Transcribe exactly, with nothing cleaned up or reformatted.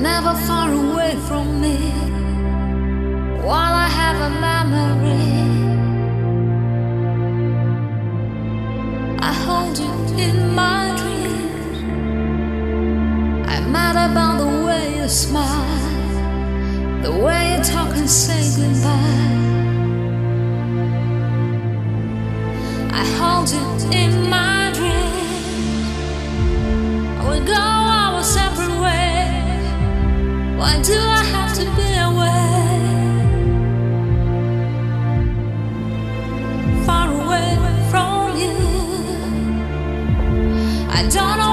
never far away from me. While I have a memory, I hold you in my dreams. I'm mad about the way you smile, the way you talk and say goodbye. I hold you in my dreams. We go our separate ways. Why do I have to be away? Far away from you. I don't know